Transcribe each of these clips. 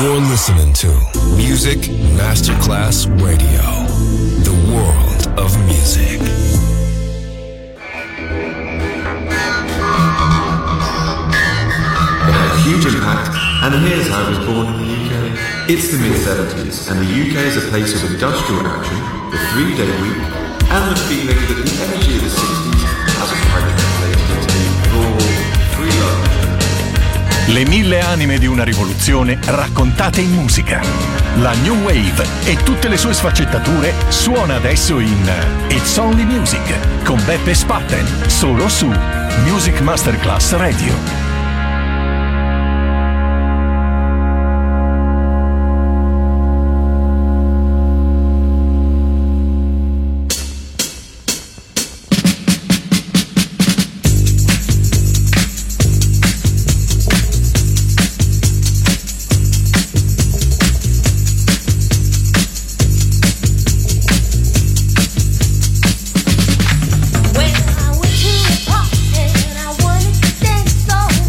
You're listening to Music Masterclass Radio, the world of music. It had a huge impact, and here's how it was born in the UK. It's the mid-70s, and the UK is a place of industrial action, the 3-day week, and the feeling that the energy of the 60s hasn't quite translated into the raw, free love. Le 1000 anime di una rivoluzione raccontate in musica. La New Wave e tutte le sue sfaccettature suona adesso in It's Only Music con Beppe Spatten, solo su Music Masterclass Radio. When I went to a party and I wanted to dance so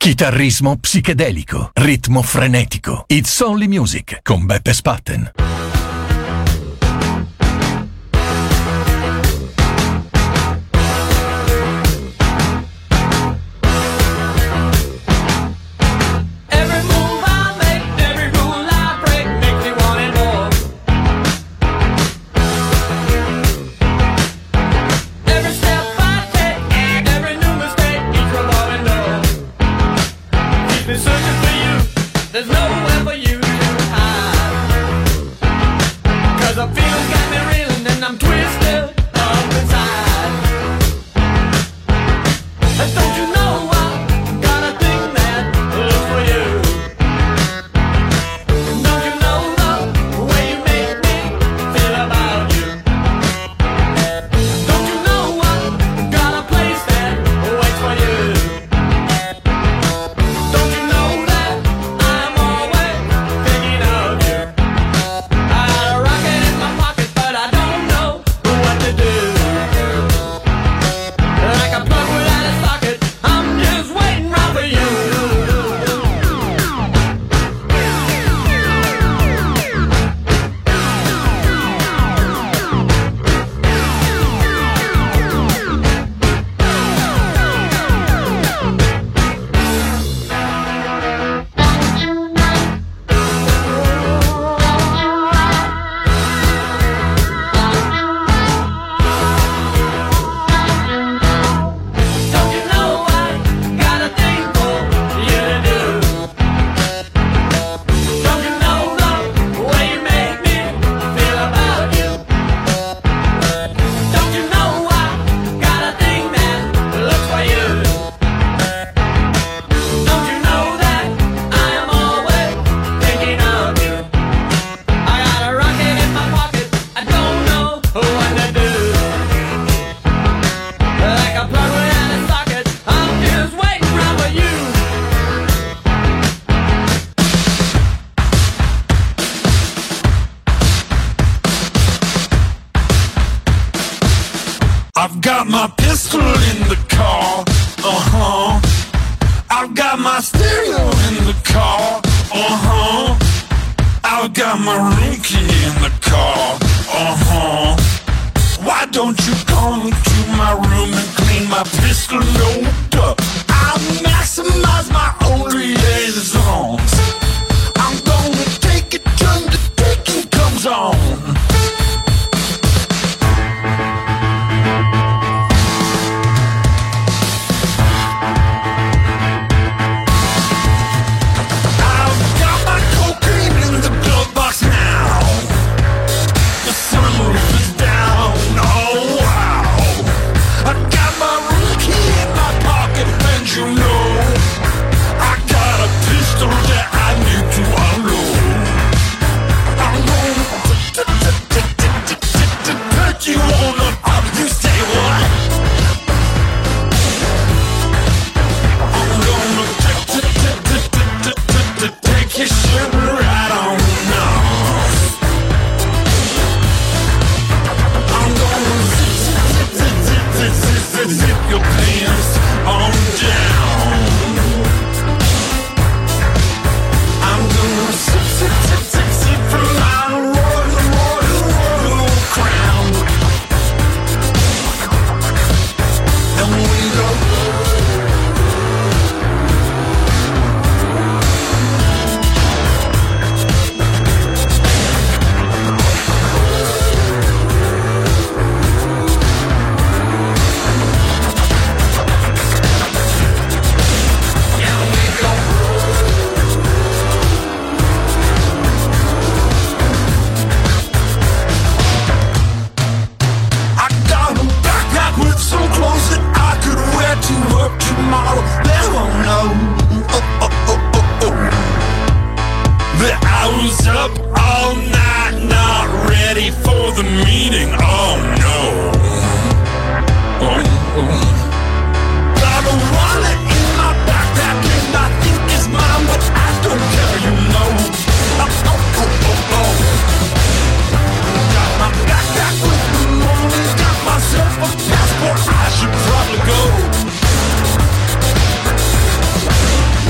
Chitarrismo psichedelico, ritmo frenetico. It's Only Music con Beppe Spatten. There's nowhere for you to hide. 'Cause the feeling's got me reeling and I'm twisted up inside. And don't you know I got a thing that looks for you? Don't you know the way you make me feel about you? Don't you know I got a place that waits for you? Don't you know that I'm always thinking of you? I got a rocket in my pocket, but I don't know what to do. Like a plug without a socket, I'm just waiting right for you. Don't you know I got a thing for you to do? Don't you know the way you make me feel about you? Don't you know I got a thing that looks for you? Don't you know that I am always thinking of you? I got a rocket in my pocket, I don't know what to do. Like a plug without a socket, I'm just waiting around for you. I've got my pistol in the car, I've got my stereo in the car, I've got my room key in the car, Why don't you come to my room and clean my pistol load up? I'll maximize my own liaisons. I'm gonna take it till the taking comes on. I've got my cocaine in the glove box now. The sunroof is down, oh wow. I got my room key in my pocket, and you know I got a pistol that I need to unload. I'm gonna put you on the up. You say what? I'm gonna take your shit right on off. I'm gonna zip your pants on down. I'm gonna sip from my royal crown. And we go. I got a backpack with some clothes that I could wear to work tomorrow. They won't know that I was up all night, not ready for the meeting. Oh no. Got a wallet in my backpack and I think it's mine, but I don't care, you know. Got my backpack with the money, got myself a passport, I should probably go.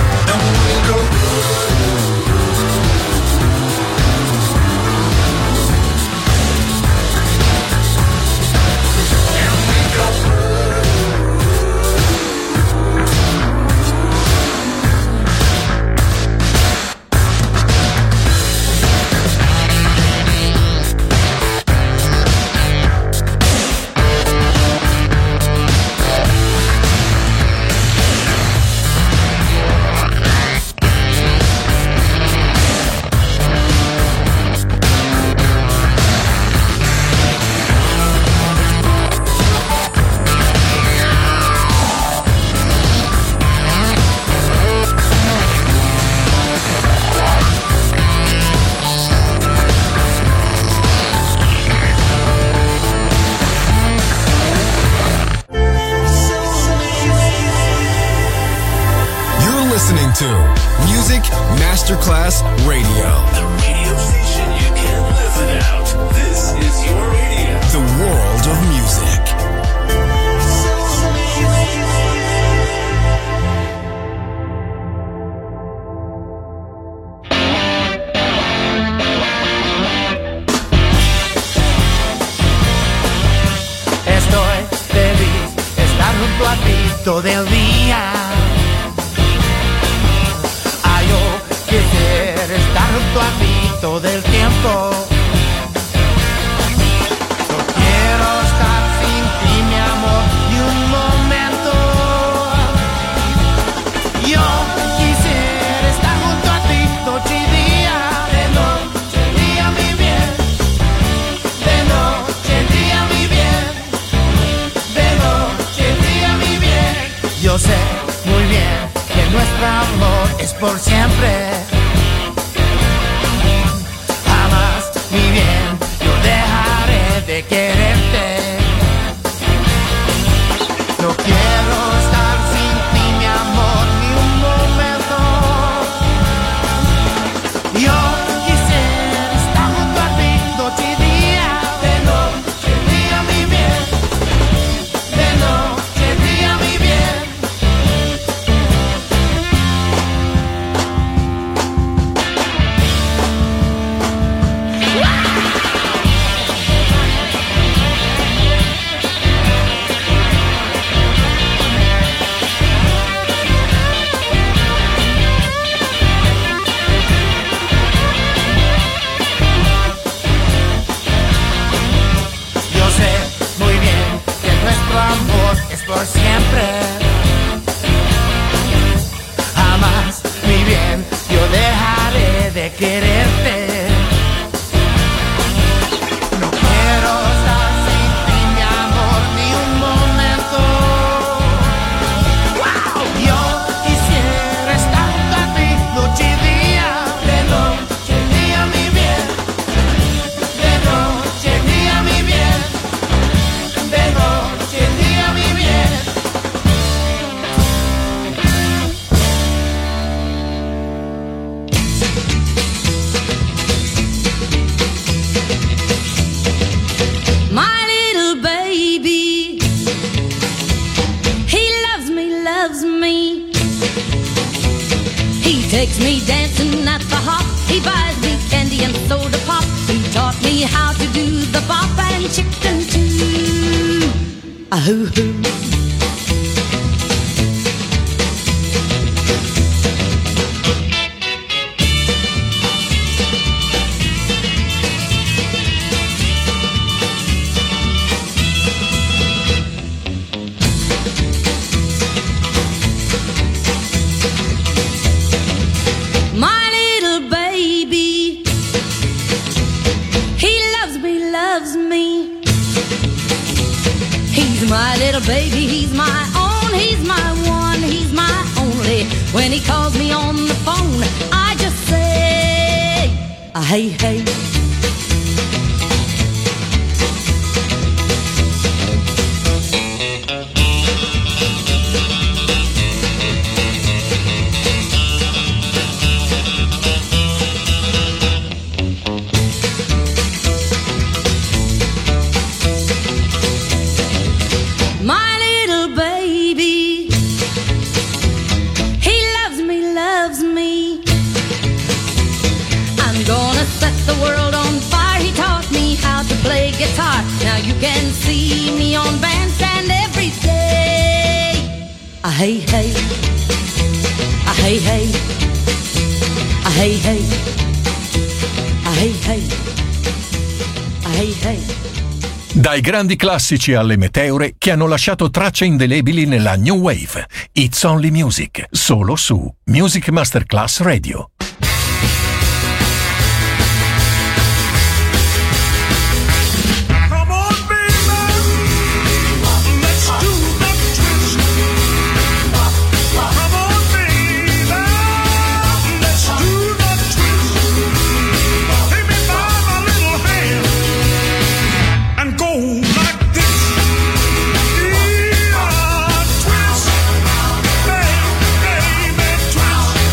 to Music Masterclass Radio. The radio station you can't live without. This is your radio. The world of music. Estoy feliz de estar junto a ti todo el día. Yo quisiera estar junto a ti todo el tiempo. No quiero estar sin ti, mi amor, ni un momento. Yo quisiera estar junto a ti noche y día. De noche y día, mi bien. De noche y día, mi bien. De noche y día, mi bien. Yo sé muy bien que nuestro amor es por siempre. Jamás, mi bien, yo dejaré de quererte. No quiero estar sin ti, mi amor, ni un momento. Yo quisiera estar junto a ti noche y día. De noche y día, mi bien. De noche y día, mi bien. Yo sé muy bien que nuestro amor es por siempre. Jamás, mi bien, yo dejaré de quererte. No quiero estar sin ti, mi amor, ni un momento. Wow. Yo quisiera estar junto a ti noche y día. De noche y día, mi bien. De noche y día, mi bien. De noche y día, mi bien. My little baby, he loves me. He takes me dancing at the hop. He buys me candy and soda pop. He taught me how to do the bop and chicken too. Ahoo-hoo. My little baby, he loves me. He's my little baby, he's my own, he's my one, he's my only. When he calls me on the phone, I just say, hey, hey. My little baby, he loves me. I'm gonna set the world on fire. He taught me how to play guitar. Now you can see me on bandstand every day. Hey, hey. Hey, hey. Hey, hey. Hey, hey. Hey, hey. Dai grandi classici alle meteore che hanno lasciato tracce indelebili nella New Wave. It's Only Music, solo su Music Masterclass Radio. Come on, baby, let's do the twist. Come on, baby, let's do the twist. Take me by my little hand and go like this. Yeah, twist, baby, twist.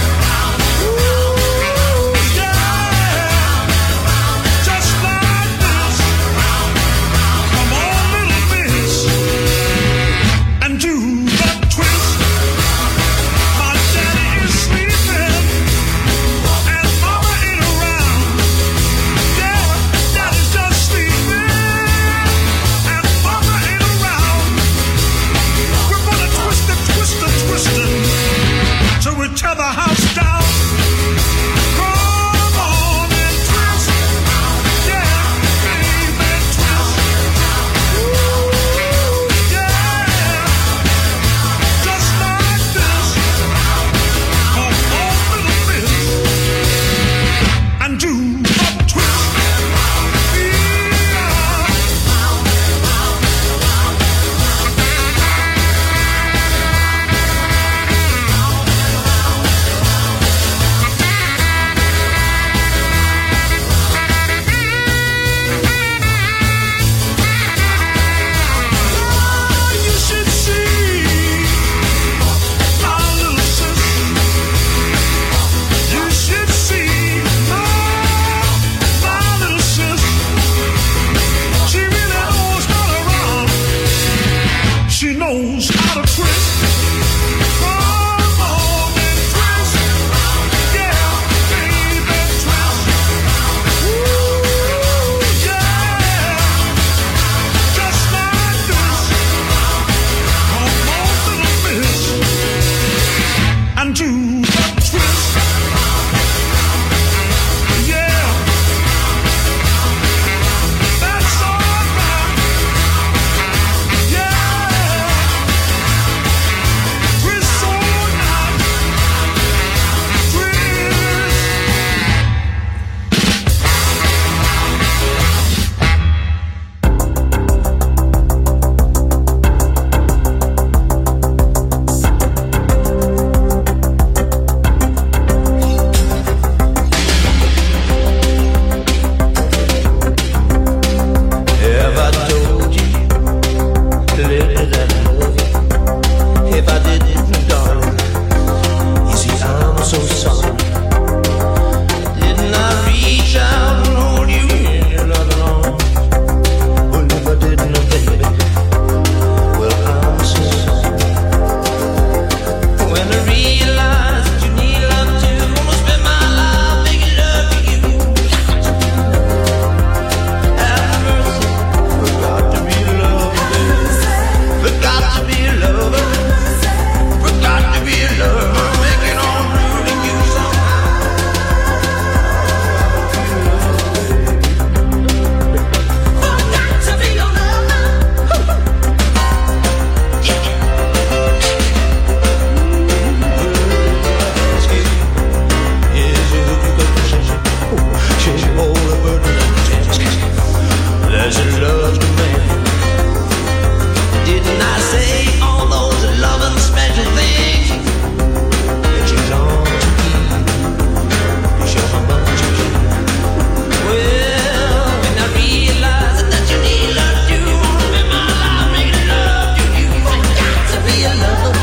She knows how to twist. Come on and twist. Yeah, baby, twist. Ooh, yeah. Just like this. Come on, little miss. And do the twist. Yeah. That's all right. Yeah. Twist all night. Twist. Have I told you lately that I love you? If I didn't, darling, you see I'm so sorry. Didn't I reach out and hold you in your loving arms? Well, if I didn't, baby, well, I'm so sorry. When I realize that you need love too, I'm gonna spend my life making love to you. Have mercy. Forgot to be a lover, baby. Forgot to be a lover. Forgot to be a lover. Make it all through to you somehow. Forgot to be a lover. There's a love command. Didn't I say all those loving special things that she's on to keep? You show how much you care. Well, when I realize that you need love too, I'm gonna spend my life making love to you. I got to be a lover.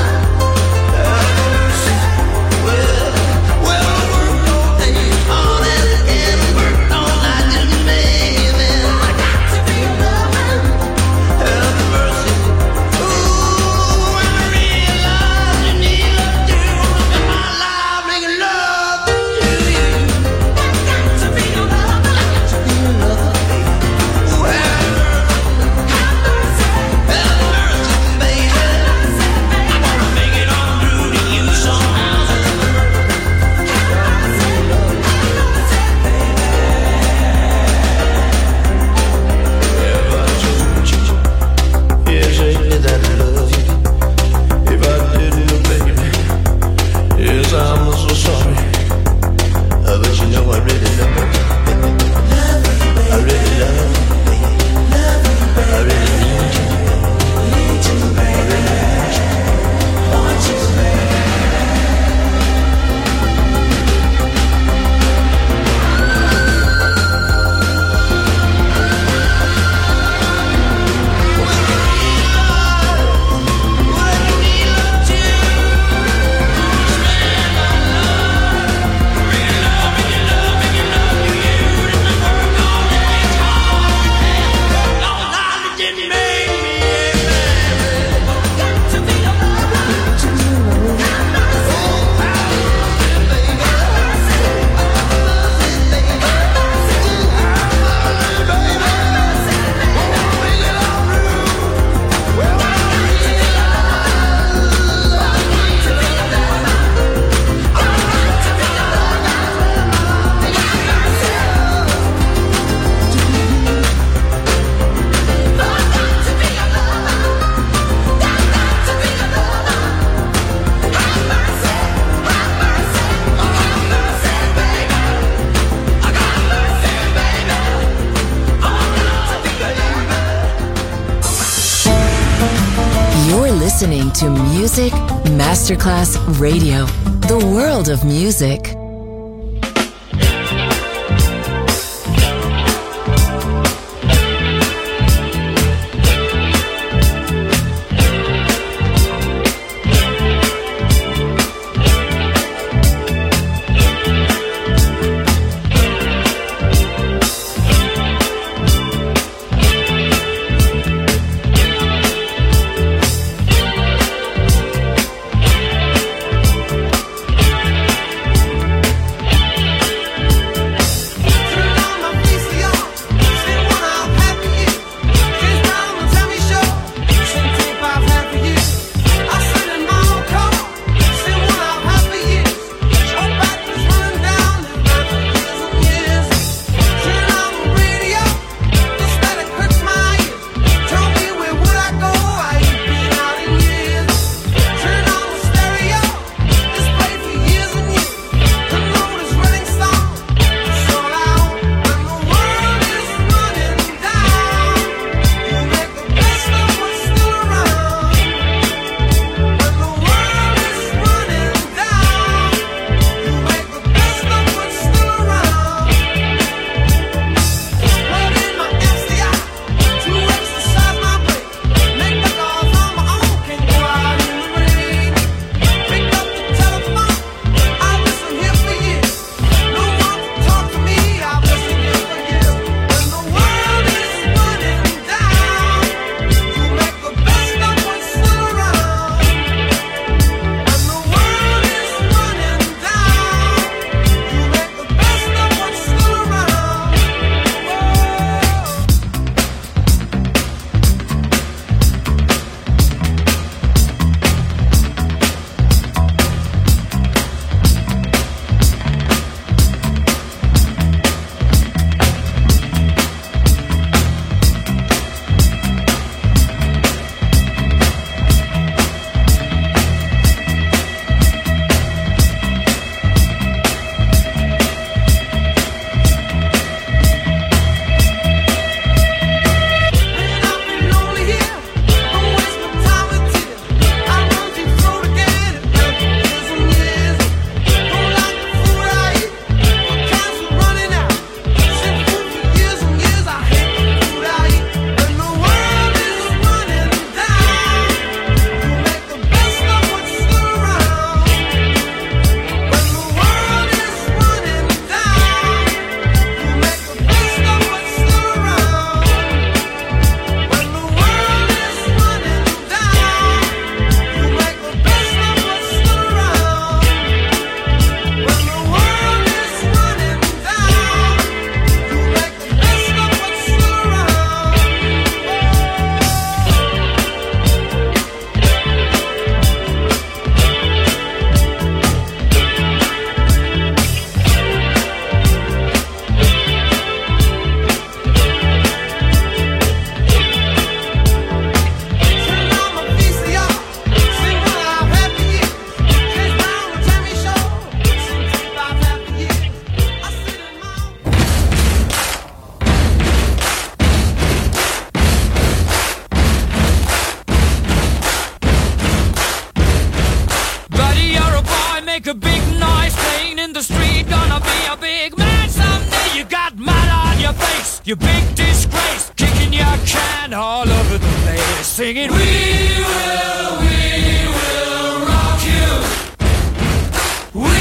Well, I worked all day, hard as I can, worked all night just to make you then. I got to be a lover. Have mercy. Ooh, when I realize you need love too, I'm gonna spend my life making love to you. I got to be a lover. I got to be a lover, baby. Ooh, have mercy, baby. I wanna make it all through to you somehow. Have I told you, yes, lately that I love you? If I didn't, baby, yes, I'm so sorry. But you know I really love you. I really love you, baby. I really need you. I really want you. Want you, You're listening to Music Masterclass Radio, the world of music. make a big noise playing in the street. Gonna be a big man someday. You got mud on your face, you big disgrace. Kicking your can all over the place, singing we will rock you. We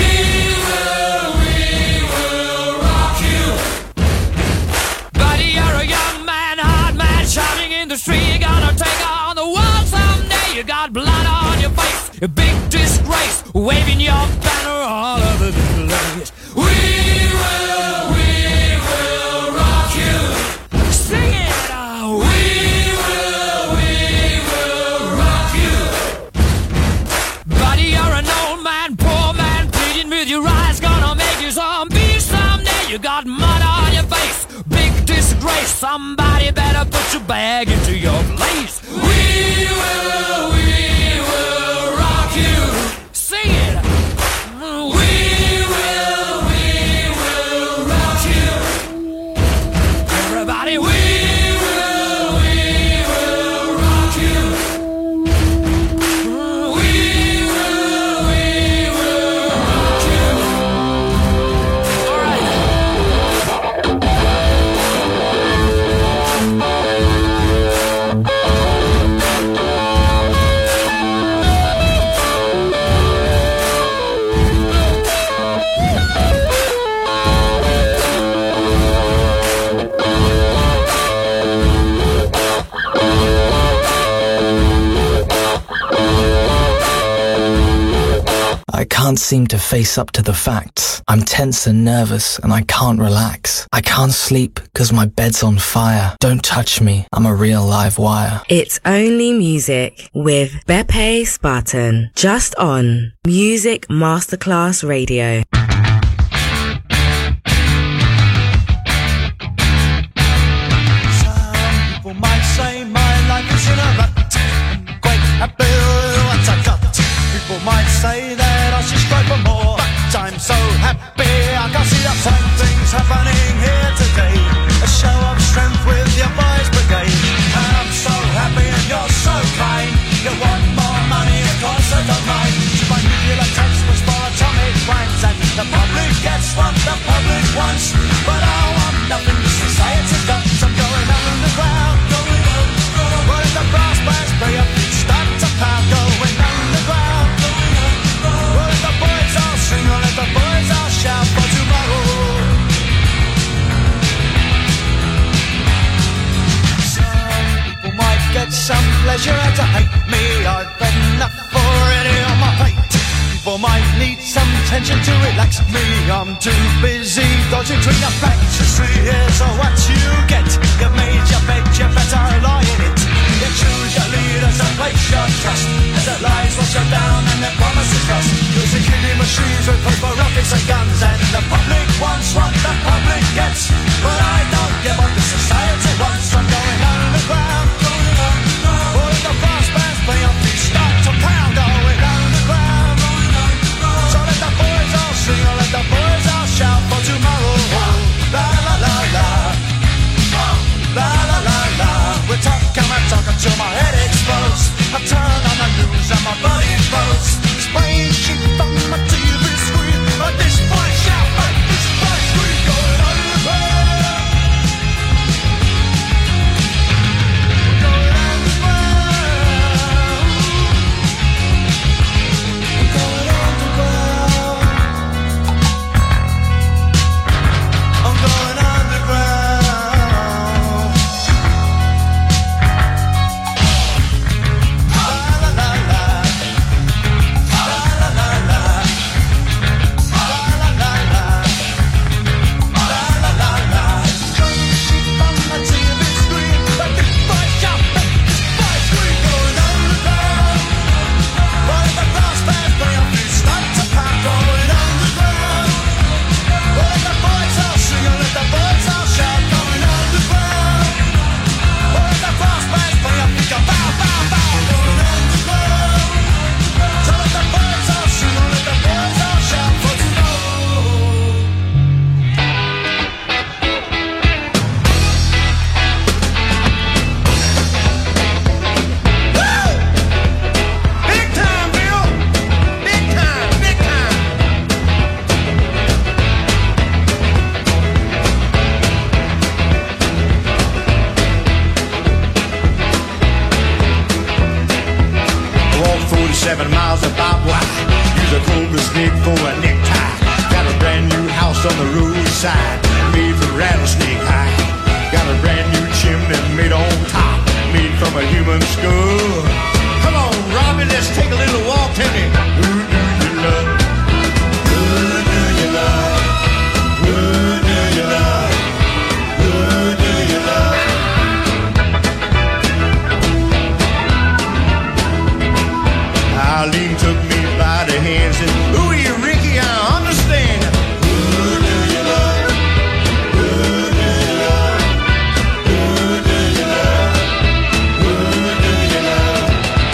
will rock you. Buddy, you're a young man, hard man, shouting in the street. You're gonna take on the world someday. You got blood on your face, a big disgrace, waving your banner all over the place. We will rock you. Sing it out. We will rock you. Buddy, you're an old man, poor man, pleading with your eyes, gonna make you zombie someday. You got mud on your face, big disgrace. Somebody better put your bag into your place. We will rock you. Sing it. We will rock you. Everybody, we will rock you. We will rock you. All right. I can't seem to face up to the facts. I'm tense and nervous and I can't relax. I can't sleep because my bed's on fire. Don't touch me, I'm a real live wire. It's Only Music with Beppe Spartan, just on Music Masterclass Radio. Some people might say my life is in a rut. I'm quite happy with what I've got. People might say that I should strive for more, but I'm so happy I can see the same things happening here today. A show of strength with your boys brigade. And I'm so happy and you're so kind. You want more money, of course I don't mind. So my nuclear textbooks for atomic rhymes, and the public gets what the public wants. But I want nothing to society does. I'm going underground, going underground. What if the brass bands play up, start to pound, going underground. What if the boys all sing, or let the boys all shout for tomorrow? Some people might get some pleasure out of hate me. I've had enough already on my plate. People might need some tension to relax me. I'm too busy dodging between the facts. Here's what you get. You've made your bed, you better lie in it. You choose your leaders and place your trust, as their lies wash you down and their promises lost. Using killing machines with paper, rockets and guns, and the public wants what the public gets. But I don't get what the society wants. I'm going underground. All of the brass bands play on beat, start to pound. Going underground. So let the boys all sing, or let the boys all shout for tomorrow. La la la la. La la la la. We're talking until my head explodes. I turn on the news and my body explodes. Spraying sheep on my TV screen. At this point shout, at this point scream. Going underground. Going underground. 7 miles of barbed wire. Use a cobra snake for a necktie. Got a brand new house on the roadside, made from rattlesnake hide. Got a brand new chimney made on top, made from a human skull. Come on, Robbie, let's take a little walk. Tell me, who do you love? Who do you love? Who do you love? Who do you love? Eileen took me by the hand and said, ooh, you Ricky, I understand. Who do you love? Who do you love? Who do you love? Who do you love?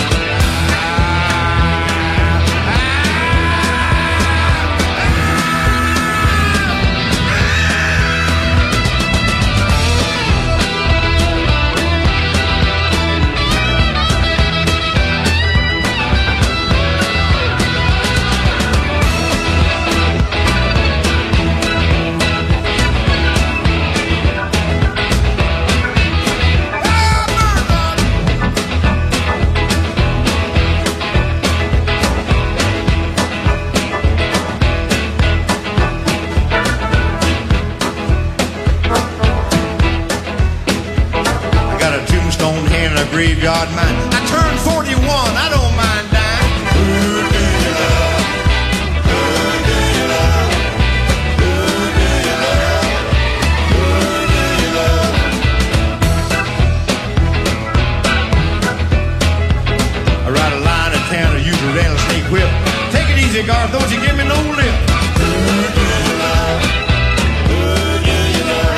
Graveyard mine. I turned 41, I don't mind dying. Who do you love? Who do you love? Who do you love? Who do you love? I ride a line in town, I use a rattlesnake whip. Take it easy, Garth, don't you give me no lip. Who do you love? Who do you love?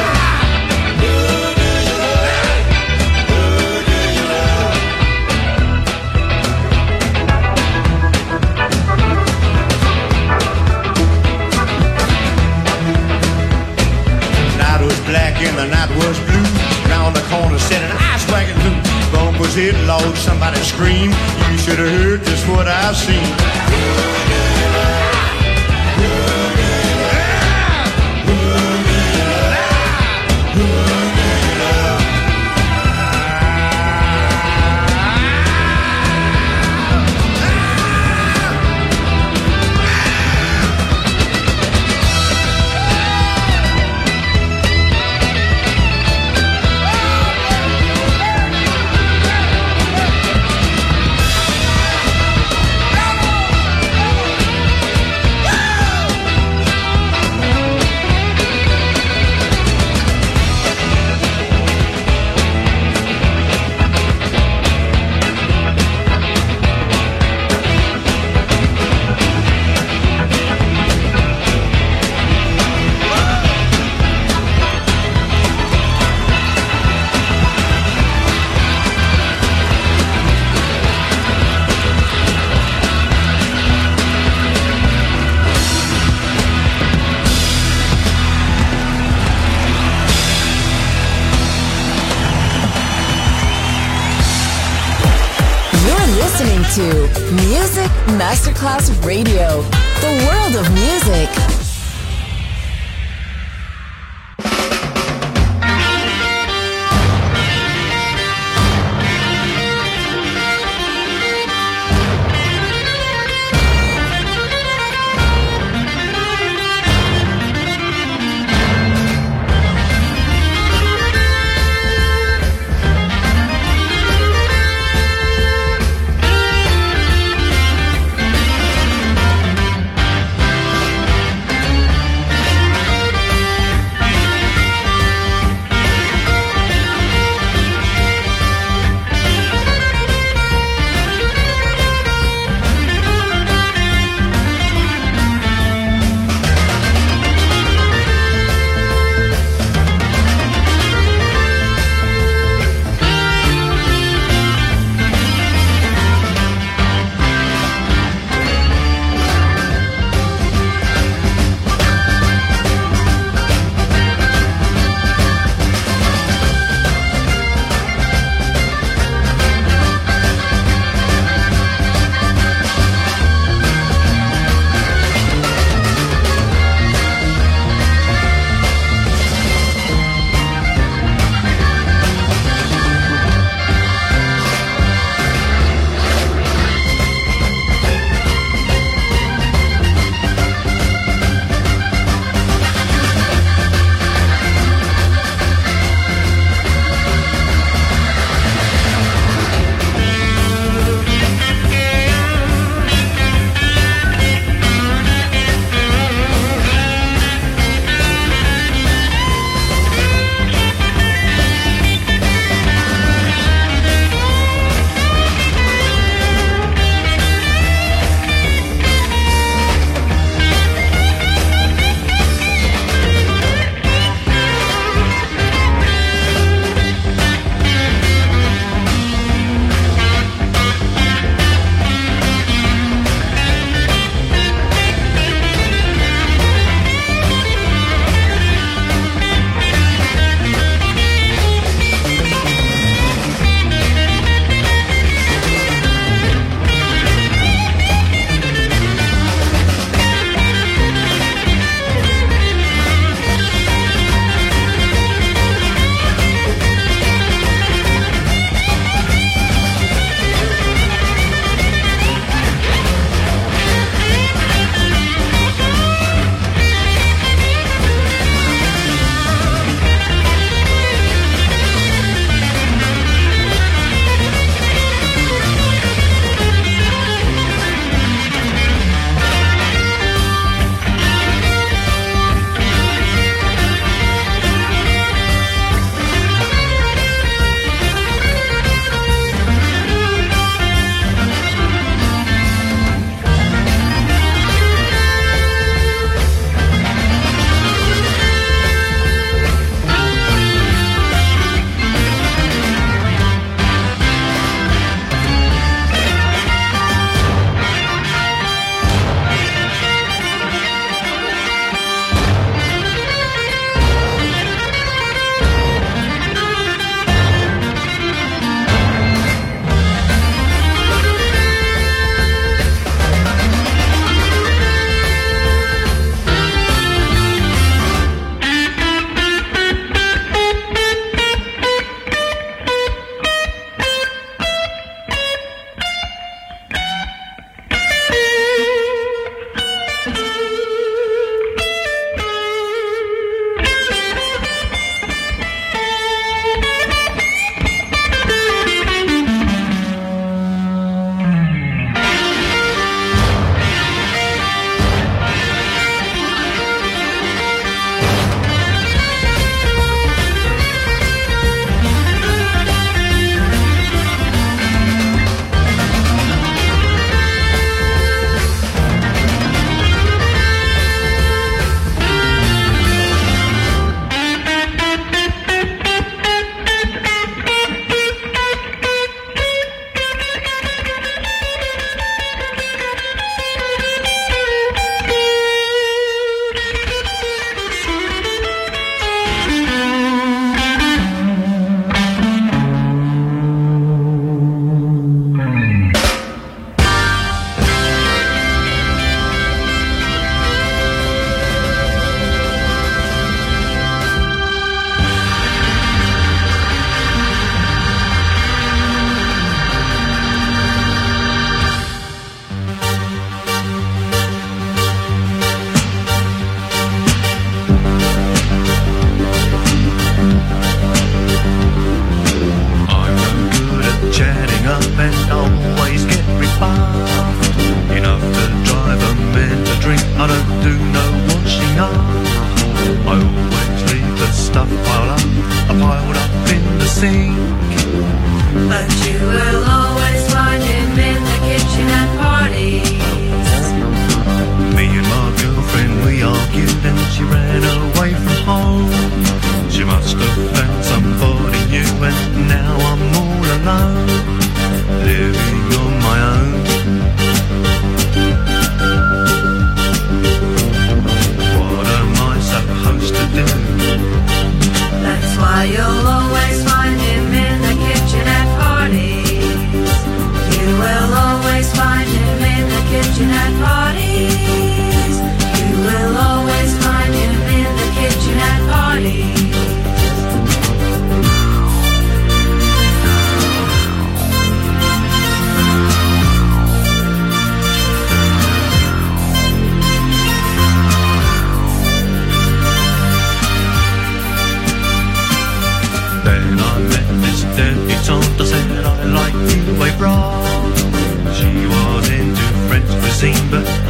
Black and the night was blue. Round the corner said an ice wagon blue. Bumpers hit loud, somebody scream. You should have heard just what I've seen. To Music Masterclass Radio, the world of music.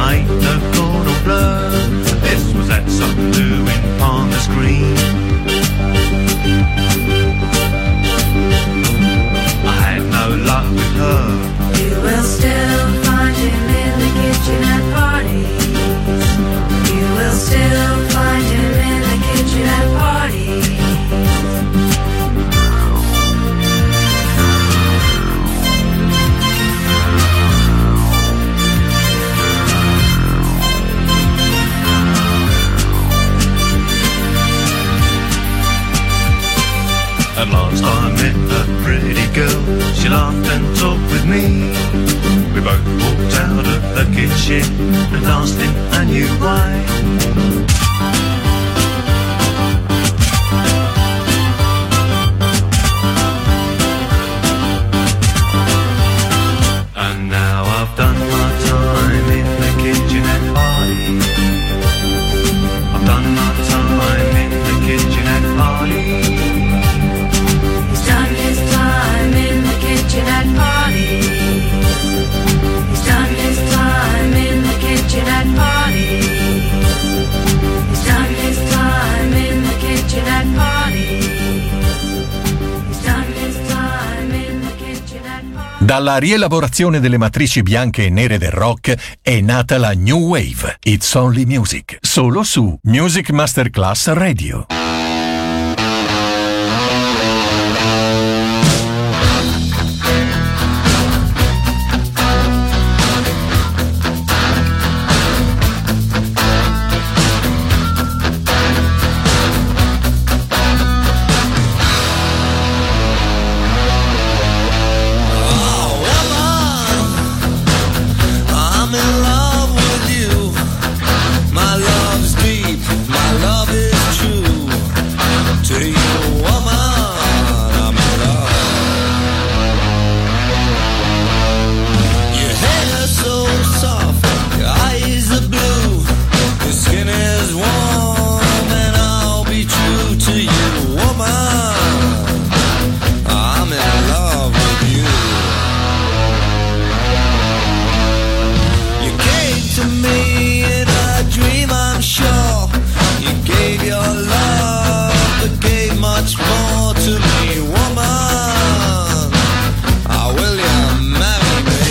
ain't no corn or blur. This was that something doing on the screen. I had no luck with her. You will still find him in the kitchen at parties. You will still find him in the kitchen at parties. At last I met a pretty girl. She laughed and talked with me. We both walked out of the kitchen and danced in a new way. And now I've done my time in the kitchen at parties. I've done my time in the kitchen at parties. He's done his time in the kitchen at parties. He's done his time in the kitchen at parties. He's done his time in the kitchen at parties. He's done his time in the kitchen at parties. Dalla rielaborazione delle matrici bianche e nere del rock è nata la New Wave. It's Only Music, solo su Music Masterclass Radio. I'm in love with you. My love's deep, my love is true. To you, woman, I'm in love. Your hair so soft, your eyes are blue. Your skin is warm, and I'll be true to you, woman. I'm in love with you. You came to me in a dream, I'm sure. You gave your love, but gave much more to me, woman. How will you marry me?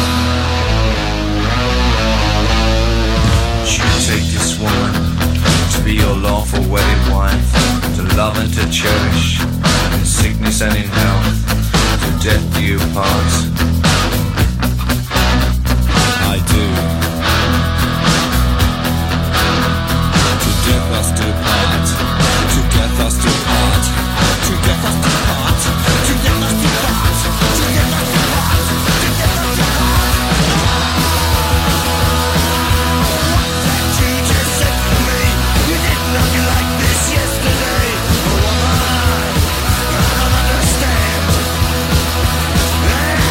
You take this woman to be your lawful wedded wife, to love and to cherish, in sickness and in health, to death do you part. I do. To death us do part. To death us do part. To death us do part. To death us do part. To death us do part. To death us do part. What did you just say to me? You didn't look like this yesterday. Oh, woman, I don't understand.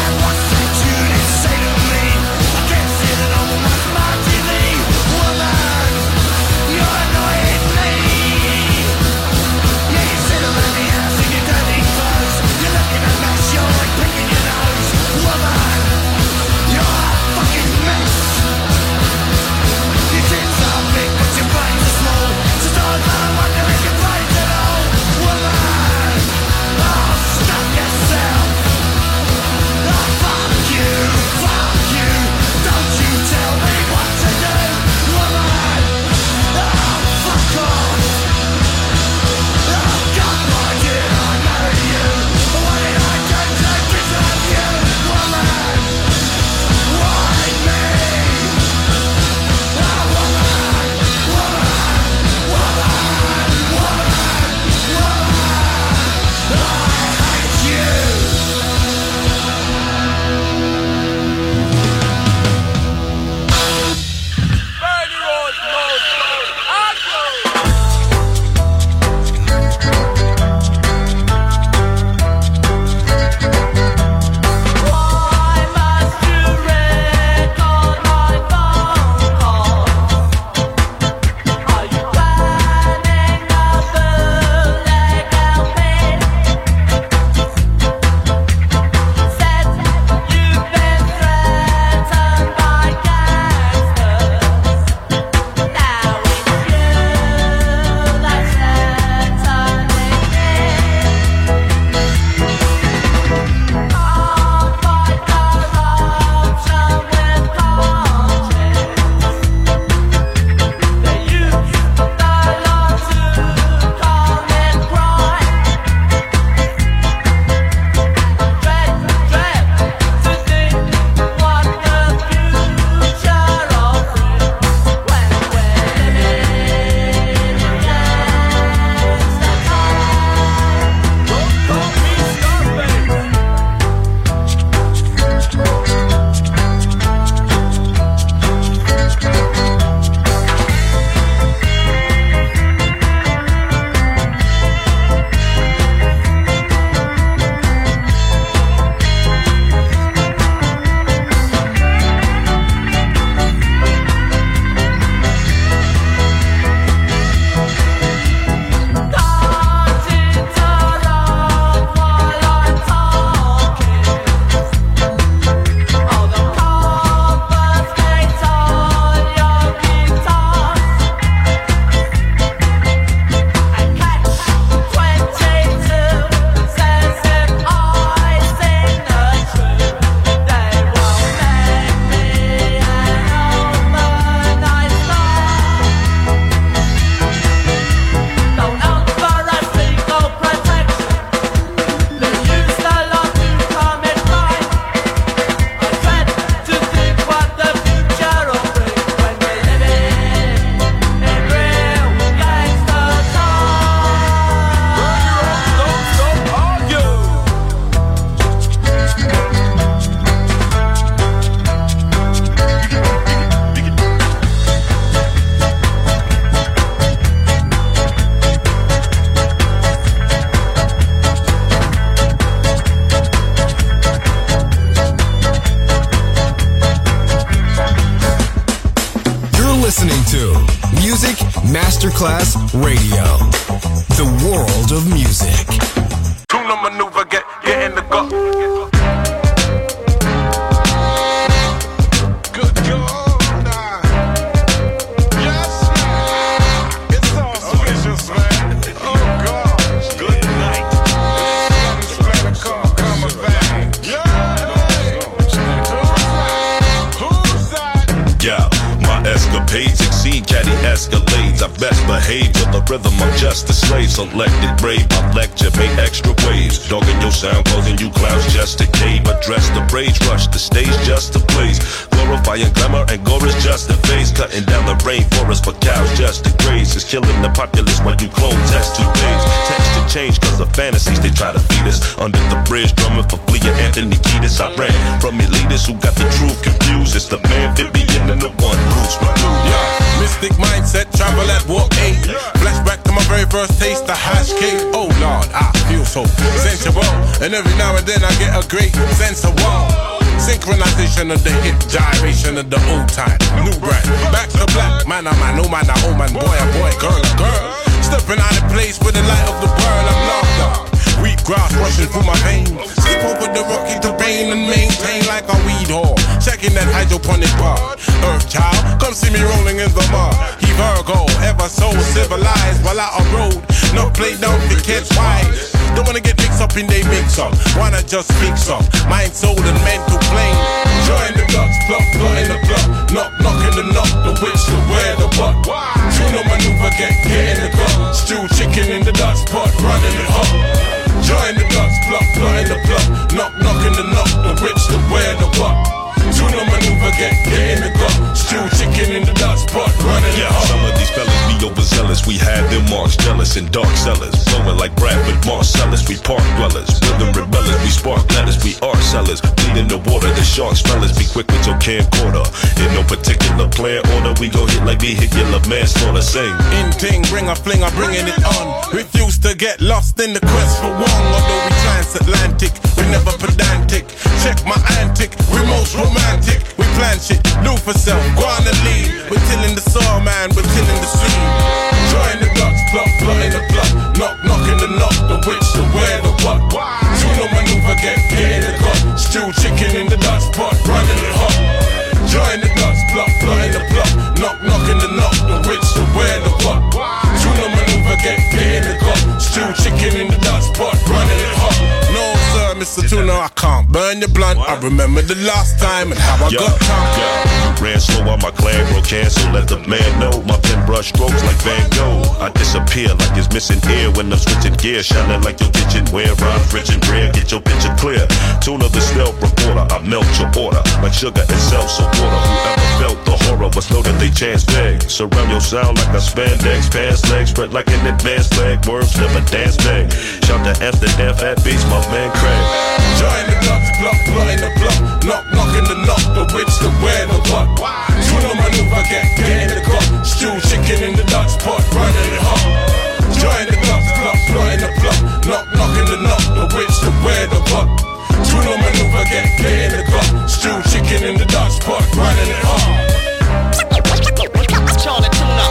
Music Masterclass Radio. The world of music. Tuna maneuver, get in the gut. Good God, yes, man. It's auspicious, man. Oh God, good night. It's better call, coming back. Who's that? Yeah, my escapades exceed caddy escalades. I best behave with the rhythm, I'm just a slave. Selected brave, my lecture made extra waves. Dogging your sound, causing you clowns just to cave. Address the rage, rush the stage just to blaze. Glorifying glamour and gore is just a phase. Cutting down the rainforest for cows just to graze. Is killing the populace when you clone test 2 days. Texture change cause of fantasies they try to feed us. Under the bridge drumming for Flea Anthony Kiedis. I ran from elitists who got the truth confused. It's the man, Vivian and the one Bruce McDougal. Yeah, mystic mindset, travel at walk 8. Flashback to my very first taste of hash cake. Oh Lord, I feel so sensual. And every now and then I get a great sense of wow. Synchronization of the hip, gyration of the old time. New brand, back to black. Man, oh man, oh man, oh man, boy, oh boy, girl, oh girl. Stepping out of place with the light of the world, I'm locked up. Wheat grass rushing through my veins. Skip over the rocky terrain and maintain like a weed whore. Checking that hydroponic bar. Earth child, come see me rolling in the mud. He Virgo, ever so civilized while out on road. No play down to catch wise. Don't wanna get mixed up in they mix up. Wanna just fix up. Mind, soul, and mental plane. Join the ducks, plug in the plug. Knock in the knock, the witch, the where, the what. Tuna maneuver, get in the club. Stew chicken in the Dutch pot, running it up. Join the ducks, plug in the plug. Knock in the knock, the witch, the where, the what. Tuna maneuver, get in the club. Stew chicken in the Dutch pot, running it up. Some of these fellas be overzealous. We had them marks jealous and dark sellers. Flowing like Bradford Marcellus. We park dwellers, rhythm rebellers. We spark letters, we art sellers. Bleed in the water, the sharks fellas. Be quick with your camcorder. In no particular plan order, we go hit like vehicular manslaughter. Sing. In ting, bring a fling, I'm bringing it on. Refuse to get lost in the quest for one. Although we transatlantic, we never pedantic. Check my antic, we most romantic. We plan shit, new for self, go on and lead. We're tilling the soil, man, we're tilling the seed. Join the ducks, plug in the plug. Knock in the knock, the witch, the where, the what. Tuna maneuver, get in the cup. Stew chicken in the Dutch pot, running it hot. Join the ducks, plug in the plug. Knock in the knock, the witch, the where, the what. Tuna maneuver, get in the cup. Stew chicken in the Dutch pot, running it hot. No sir, Mr. Tuna, I can't burn your blunt. I remember the last time and how I got time. Ran slow on my clan, bro, cancel, let the man know. My pen brush strokes like Van Gogh. I disappear like it's missing air when I'm switching gear. Shining like your kitchenware, rhymes rich and rare, get your picture clear. Tuna the stealth reporter, I melt your order like sugar itself, so water. Whoever felt the horror must know that they chance bag. Surround your sound like a spandex, pants legs spread like an advanced flag. Worms never dance back. Shout to Amsterdam, fat beats, my man Craig. Join the ducks, plug in the plug. Knock in the knock, the witch, the where, the what. Tuna maneuver, get in the cup. Stew chicken in the Dutch pot, running it hot. Join the ducks, plug in the plug. Knock in the knock, the witch, the where, the what. Tuna maneuver, get in the cup. Stew chicken in the Dutch pot, running it hot. Charlie Tuna.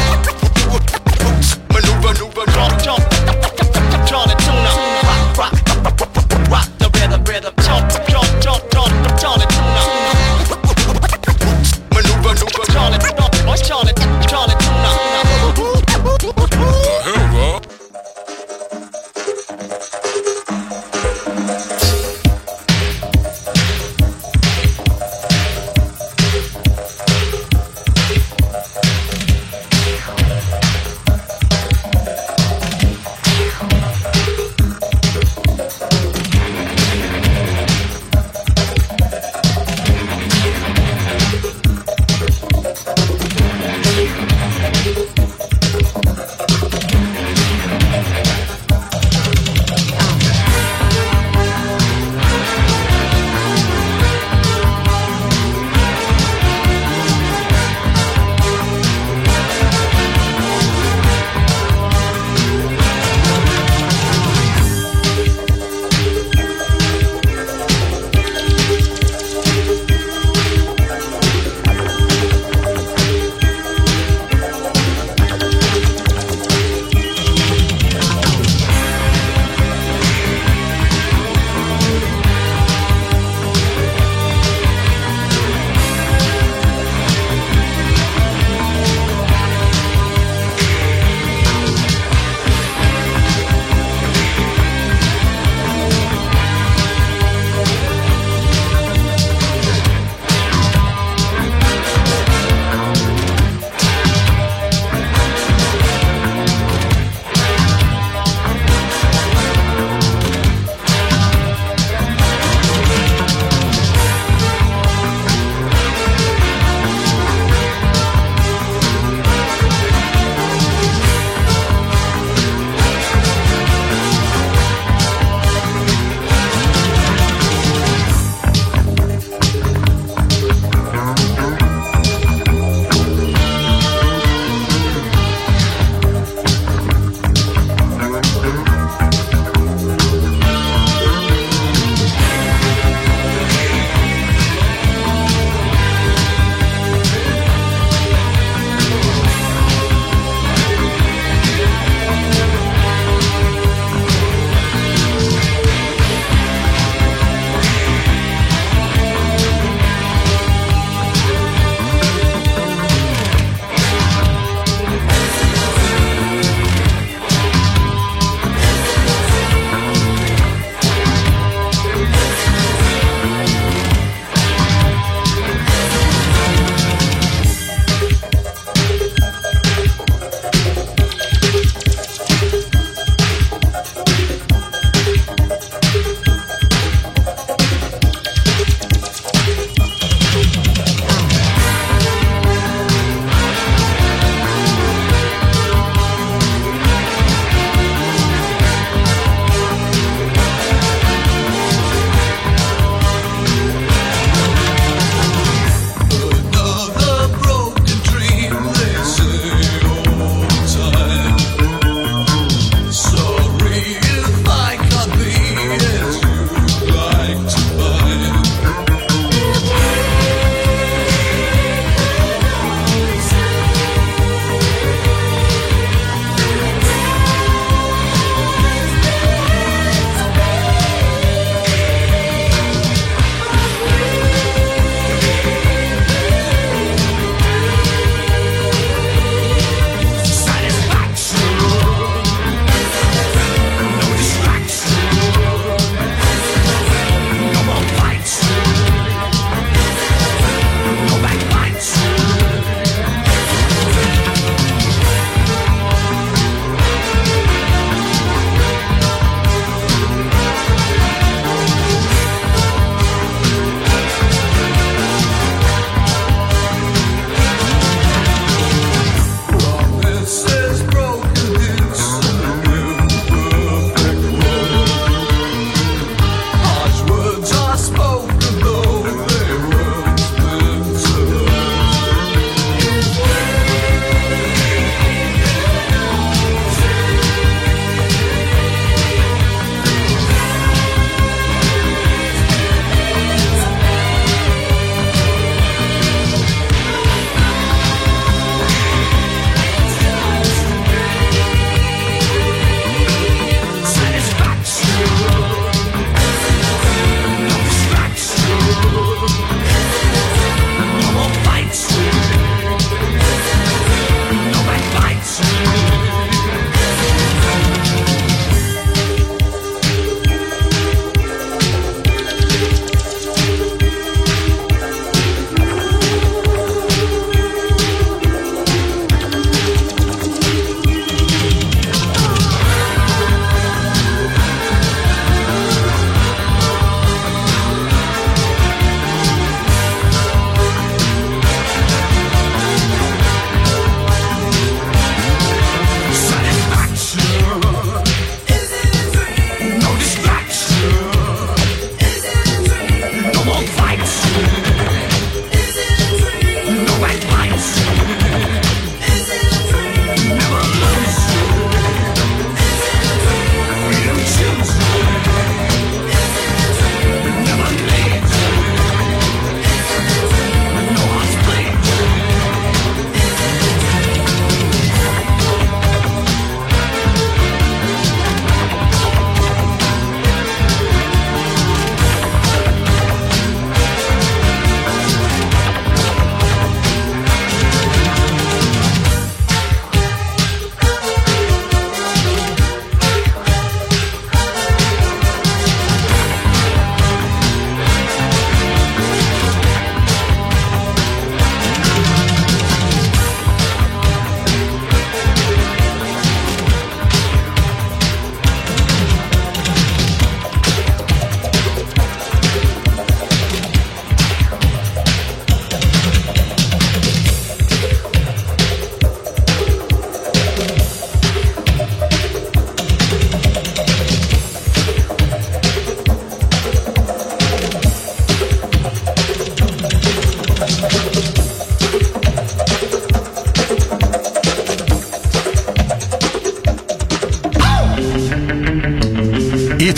Maneuver, jump. Charlie Tuna. Rock the rhythm. Jump, Charlie Tuna.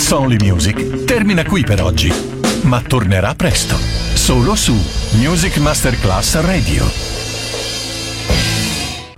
It's Only Music termina qui per oggi, ma tornerà presto, solo su Music Masterclass Radio.